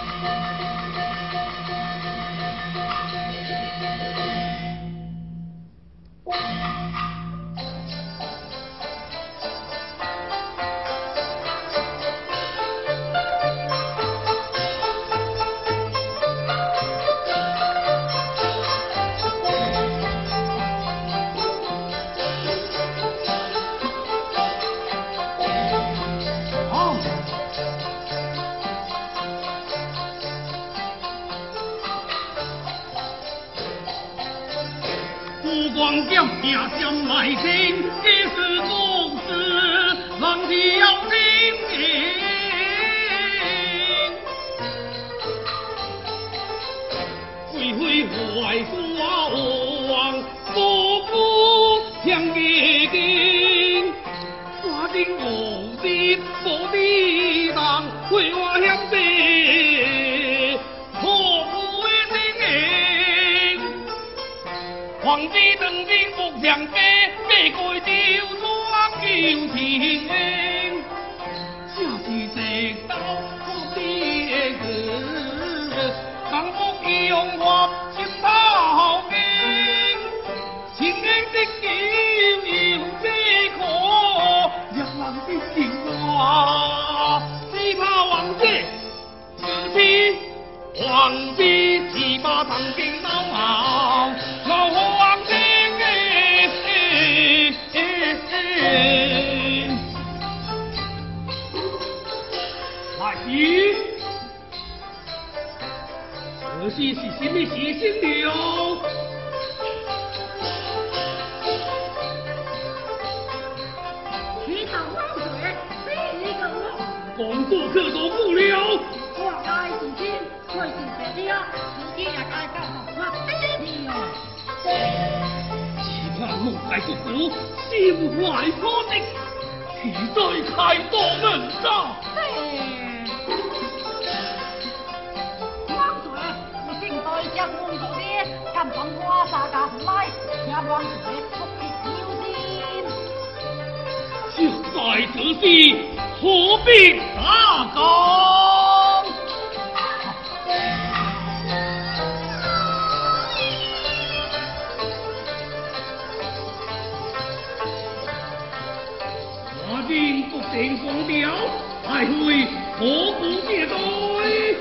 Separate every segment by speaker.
Speaker 1: 光剑命相来生，一世公事，望是要听命。恢恢坏耍王，不顾向野经，花尽无地无地当，为我向地，破不为心硬。皇帝当兵不强兵，被鬼丢双救天命，正是直到我的子，幸福用我心头经，情愿的救有这可，让人的情话，只怕王者自欺，皇帝只怕曾经闹好。老皇帝来人，这是什么事情了？
Speaker 2: 你头汪水，比你个我。
Speaker 1: 讲过可多不了。
Speaker 2: 我该自己，我是别的啊，自己也该干我比你哦。
Speaker 1: 只怕梦在不古，心怀可敌，岂在开多门上？
Speaker 2: 汪水，我正在将梦做的，敢帮我大家来，请汪水福气有心。
Speaker 1: 就在这时，何必大讲？我今不定光雕，还会何故灭对？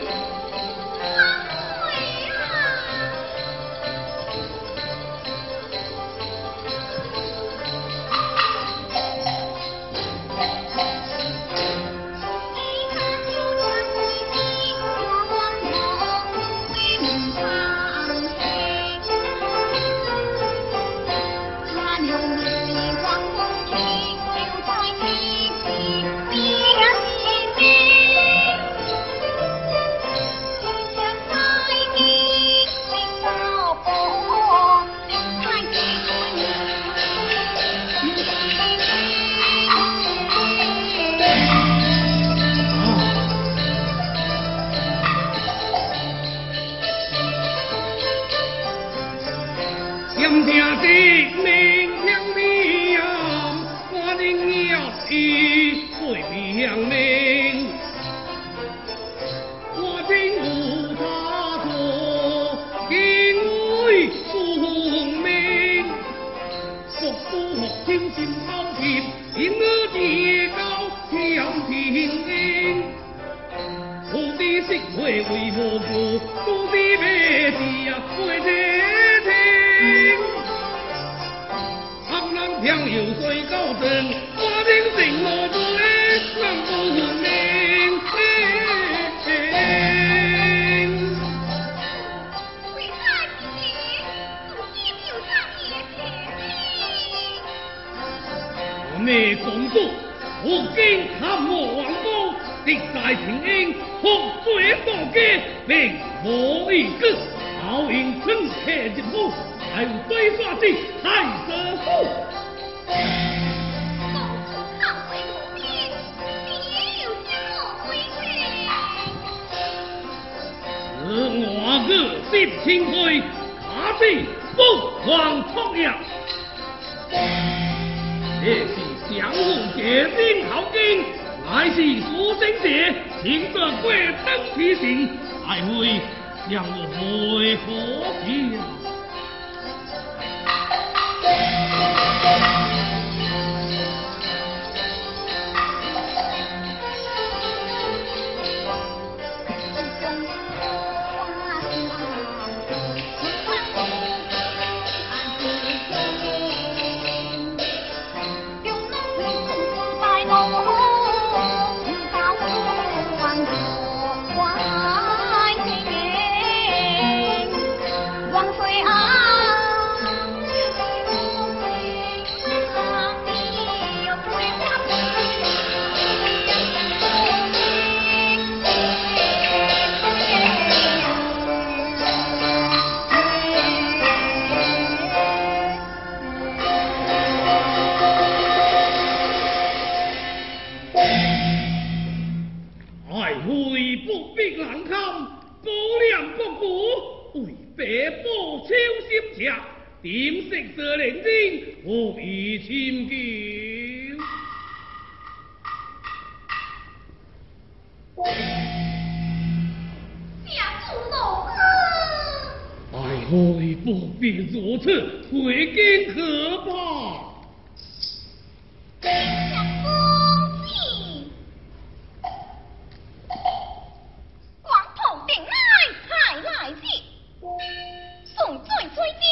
Speaker 1: 你公主，我今探我王公，敌在平英，红水多家，并无一个好运春客之府，还有对刷子太师府。我个心清灰，卡起不忘创业。这是相互结冰好经，乃是苏生者，请得贵登其行， 爱会向我回何家？点色色连经，何以亲近？
Speaker 2: 家主老哥，
Speaker 1: 爱会不必如此，回京可怕。
Speaker 2: 家公子，光头顶来，太来气，送罪追究。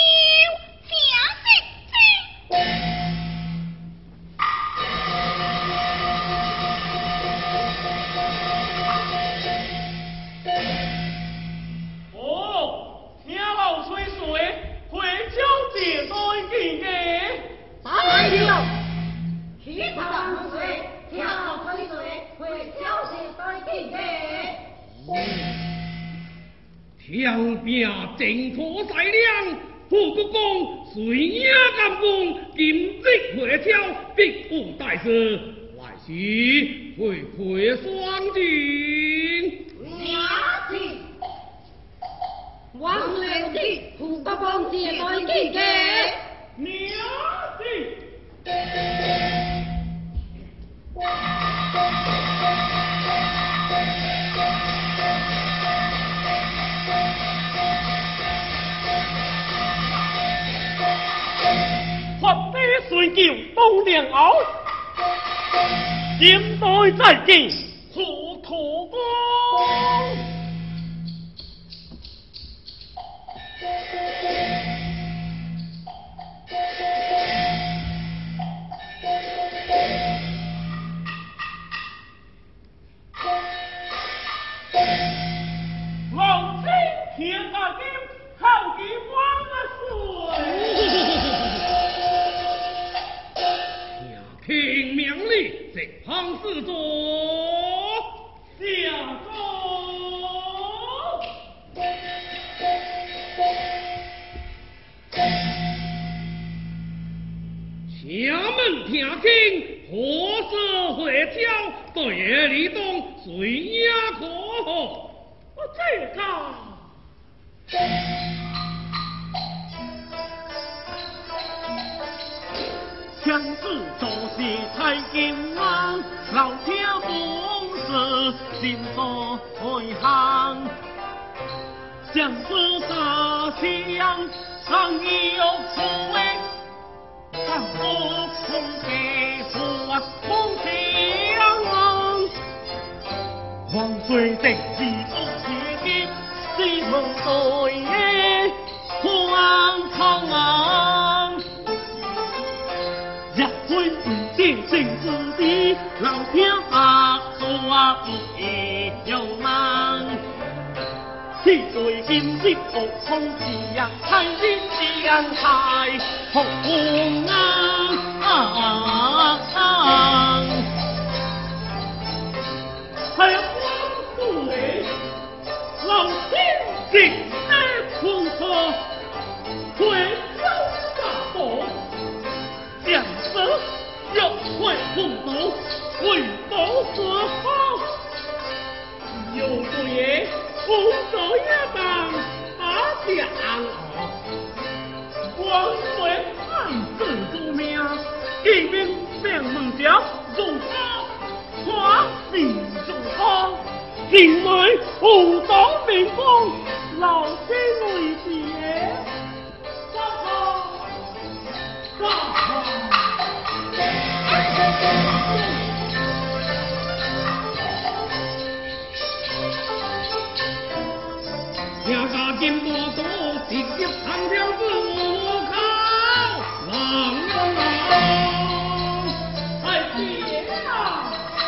Speaker 1: 枪柄正妥在亮，副国公随影监官，今日回朝，必无大事，来时会会双进。
Speaker 2: 娘子，王良子，副国公自在见嘅。
Speaker 1: 娘子。水救东凉后，今代再见，何土公。老妻天大金，好几万岁。听命令，直行四座，下座。衙门听经，何时回朝？对夜里东，随也可。这个。强子做事太健忘，老天公事心所会行。强子大将常有错位，但我空给说空强。黄水定是不铁剑，西门对夜荒唐。天性之地，老天白做不易有难。此对今日学空自呀，太日将太红啊！还有光水，老天竟在空车，回朝大宝，将色。要会红斗，为保所好。有对红手也当把将王水汉子做命，一命心内武当明光，老天为解。走好，走好。听家金波多，直接长条子我靠，郎哎爹啊！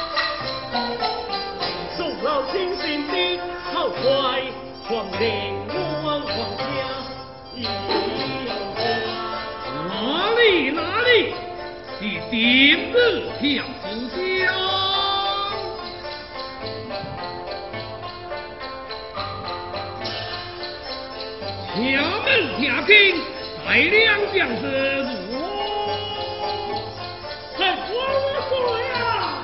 Speaker 1: 受到亲信的好坏，皇陵王皇家一哪里是今日跳出江？衙门听听，大量将士如何？还我说呀！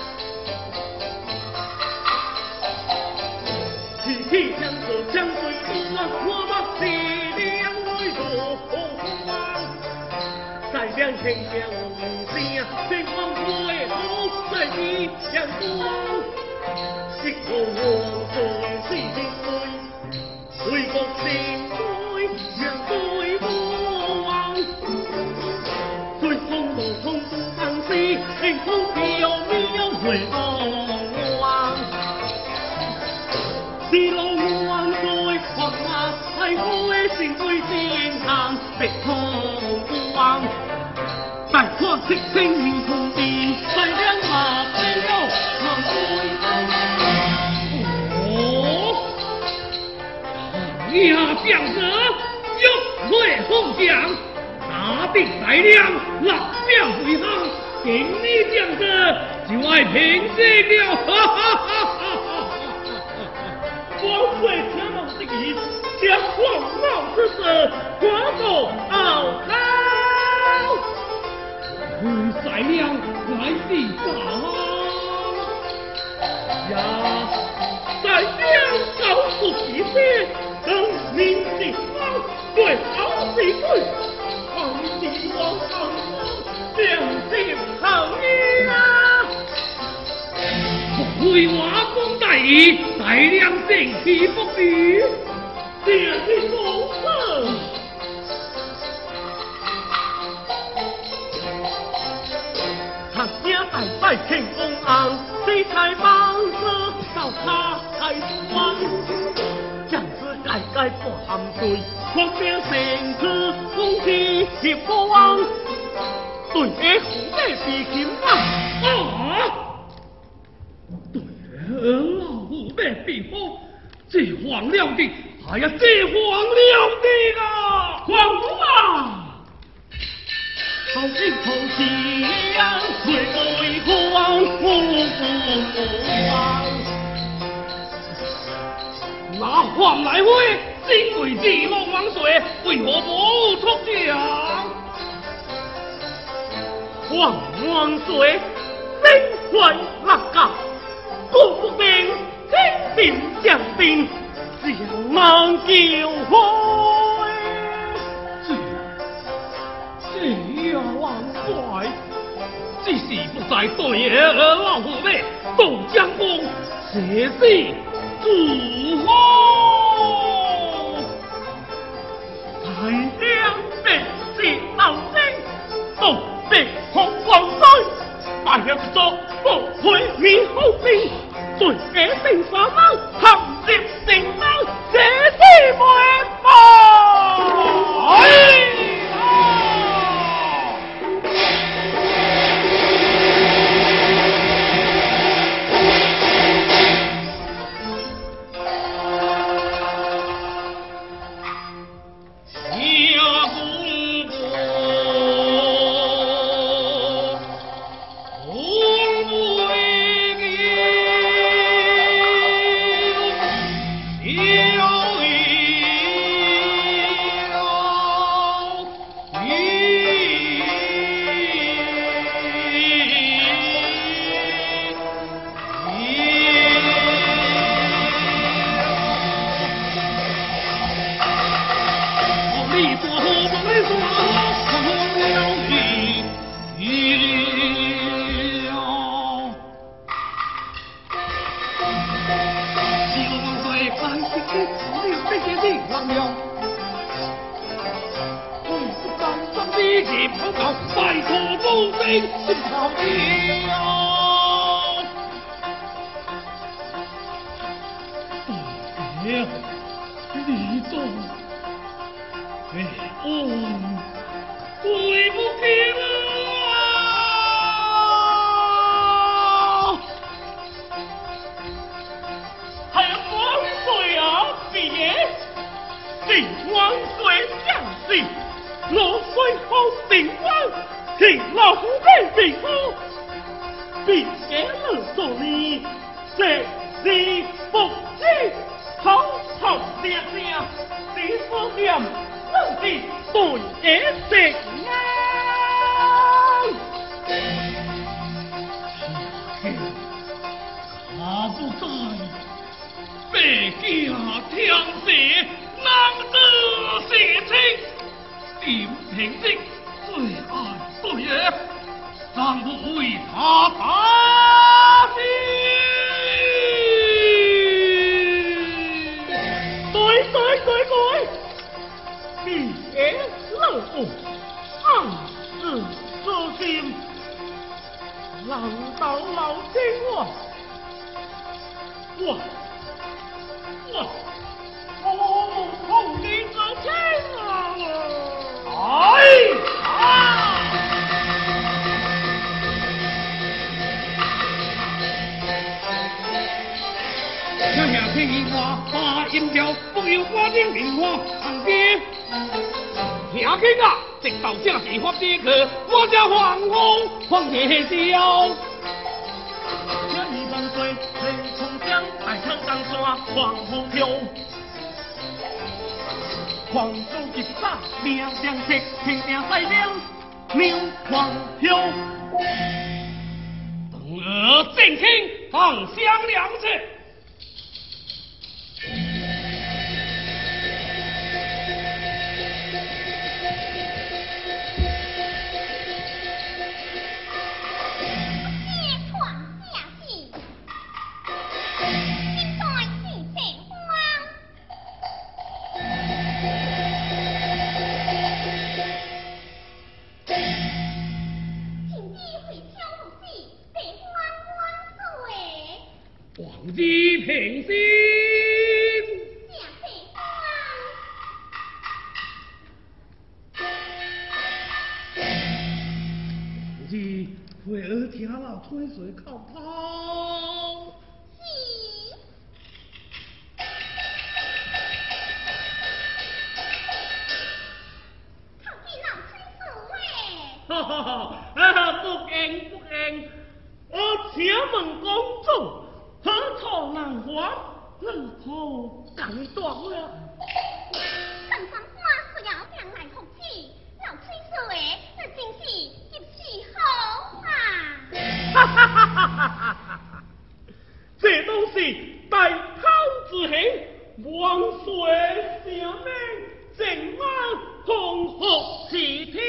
Speaker 1: 提起将士将对我把力量为荣，再将天下无声，天光归后再比相光，一个王岁是天岁，为国心。天空飘渺回望，是龙王在狂马，太古的心对天堂别空望。大看七星明空地，再亮马飞绕望哦，呀，将者玉会凤将，打定大亮，立表回航。今日将士就爱平息了，哈哈哈哈哈！王岁听到这个，将狂妄之事传到敖高，为宰良来地上呀！宰良告诉一些，等民地方对好地对，皇帝王好。将心好意啊！为我公大义，大量正气不比，这是公事。他家大摆庆功昂，这才帮着到他开关。将士改改不含罪，狂兵成次攻击铁国王。对儿虎背比琴啊！对儿老虎背比风，这黄了的，哎呀，这黄了的啊！皇姑啊！好心好气呀，为光拿黄来回，身为地龙王岁，为何不出将？王万岁，身怀立甲，国不兵，天兵将兵，将猛叫开。这王帅，只是不在对儿老虎妹，杜江公写诗祝贺，大量兵士后生，都被红光衰，大了作不会面好兵，对野兵杀猫，含接定猫，这是没报。
Speaker 3: 一
Speaker 1: 一起报告，拜托母亲讨教。爹，你懂？哎，对不起了。
Speaker 3: 还万岁啊，别！定万岁将士，落水后定万，请老夫给平夫，别了做你，这是不知好好爹爹，你不念，真是对也正啊！
Speaker 1: 他不在，北家天地难得事情，点平息最爱对也，让我为他打死。
Speaker 3: 对，别老夫暗自私心，难道老天我同你之情啊！
Speaker 1: 下下听银花，把银条不由花丁银花旁边。听见啊，直到正是发的去，我这皇后皇爷笑。
Speaker 3: 这一万岁，雷冲江，大唐江山皇后飘。皇祖一杀，命良色，天命赛量，牛皇飘。
Speaker 1: 等儿正卿，放香两次。皇帝平心，皇帝为儿听了吹水靠泡。
Speaker 3: 哈哈哈！不敬，我请问公主，何处难还？何处敢断了？
Speaker 4: 陈三花需要将来福气，老崔说的那真是一时好啊！
Speaker 3: 哈哈哈哈哈哈！这都是大考之行，万岁圣命，正安红福齐天。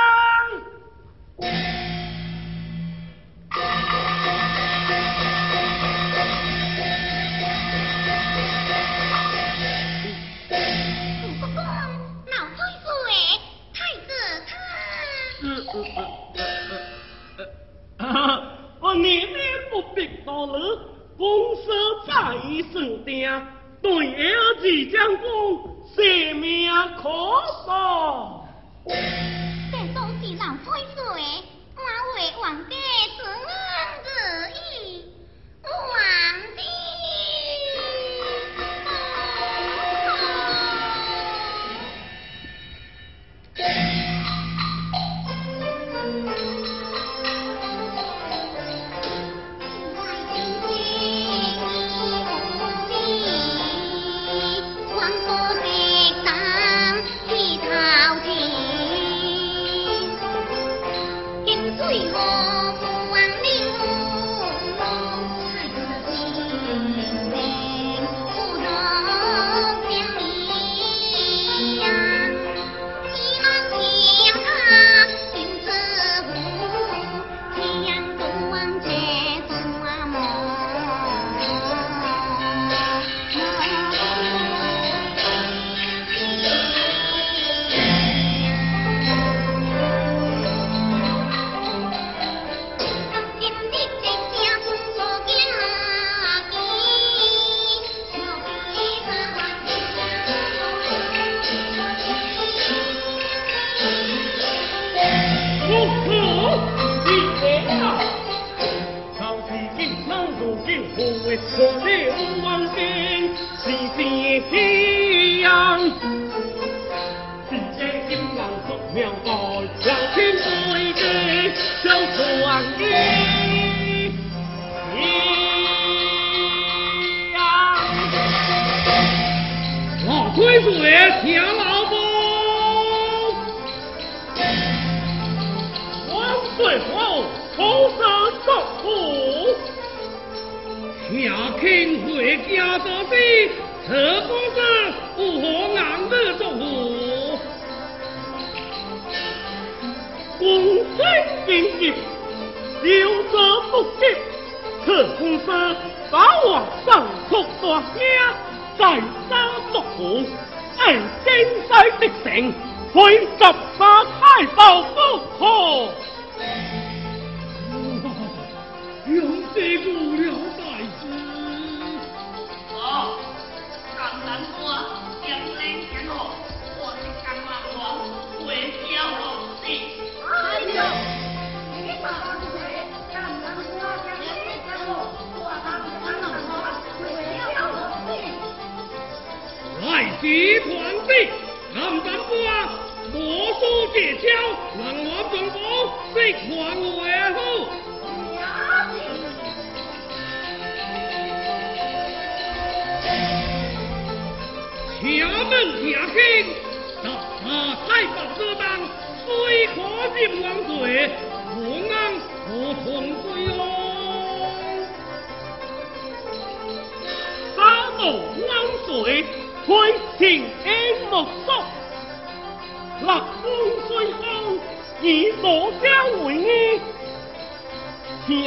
Speaker 3: 你们不必多虑，公司在身定，对儿子将功，性命可保。
Speaker 4: 这都是老崔说的，我为皇帝自安自意，皇帝。水河不
Speaker 3: 可了王兵是夕阳。只见金狼捉苗代，两天对地相传衣。
Speaker 1: 老推水听老风，
Speaker 3: 王水后头上作虎，
Speaker 1: 下听回家做事，这公子不可硬的做虎。
Speaker 3: 公孙兵役，有者不及，此公子把我上出大名。在家作虎，爱金西的城，会十八太保不可。
Speaker 1: 杨师顾了大事。
Speaker 5: 哦，江南瓜江南江河，我是江南王，会教我的。
Speaker 2: 哎呦，你大王水，江南花江南江河，我当江南王，会教我的。
Speaker 1: 来时团结，南南瓜，魔术技巧，让我中国识还为好。衙门听听，十八太保之当，虽可任王罪，何安何从归哦？
Speaker 3: 沙漠汪水，推情恩莫索。立功虽好，以罗家为义，听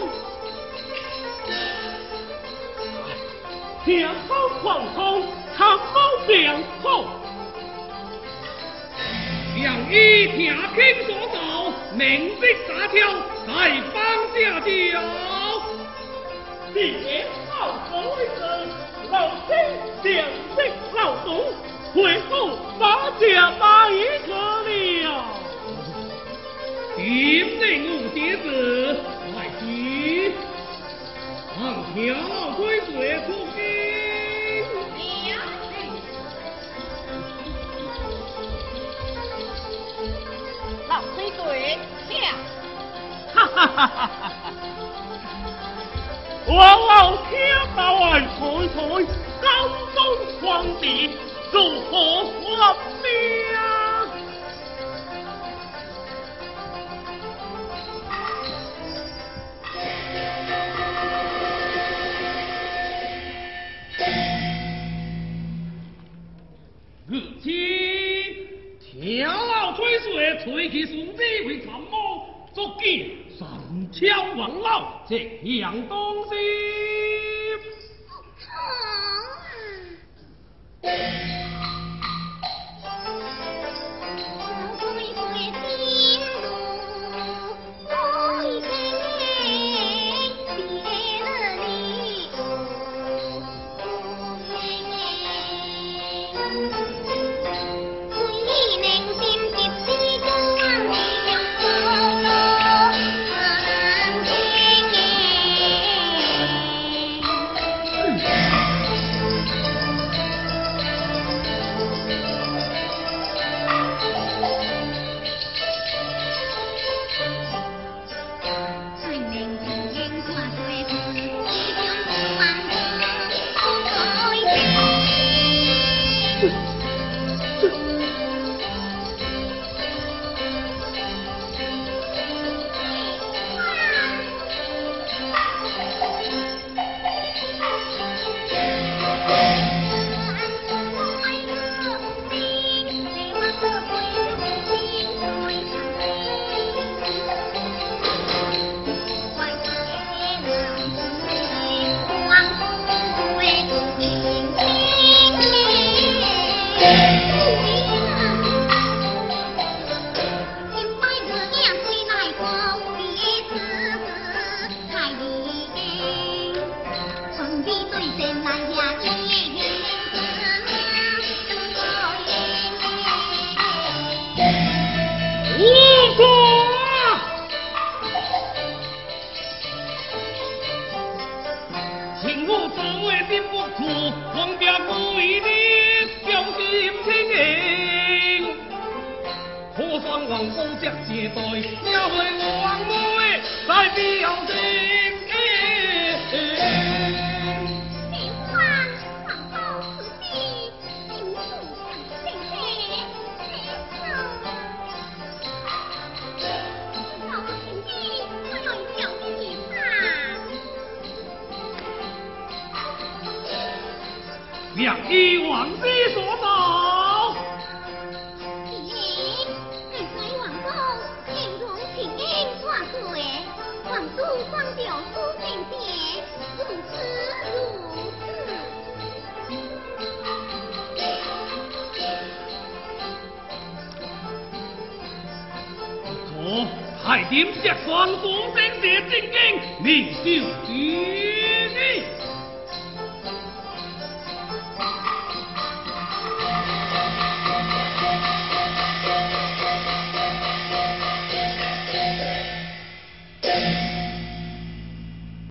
Speaker 3: 风狂风，参谋良好。
Speaker 1: 让伊听听所造，明日大跳，再放下脚。
Speaker 3: 别好所为人，老天良心劳动，回复把家把一个了。
Speaker 1: 今日无节子，来时，让条推水出兵。
Speaker 2: 老水水，下。
Speaker 3: 哈哈哈哈哈！我老天把外财财，高中皇帝如何立命？
Speaker 1: 日期，听老推水，吹起顺子为参谋，足见三枪王老这样东西。请我我作为的不苦，王家为你表心情迎。可算王公爵接待，也为王妹来表情。良医王师所造。
Speaker 4: 咦，你在王宫形容情景万岁，王叔光调书正节，如此如此。
Speaker 1: 可太点石算所生的正经，你就知你。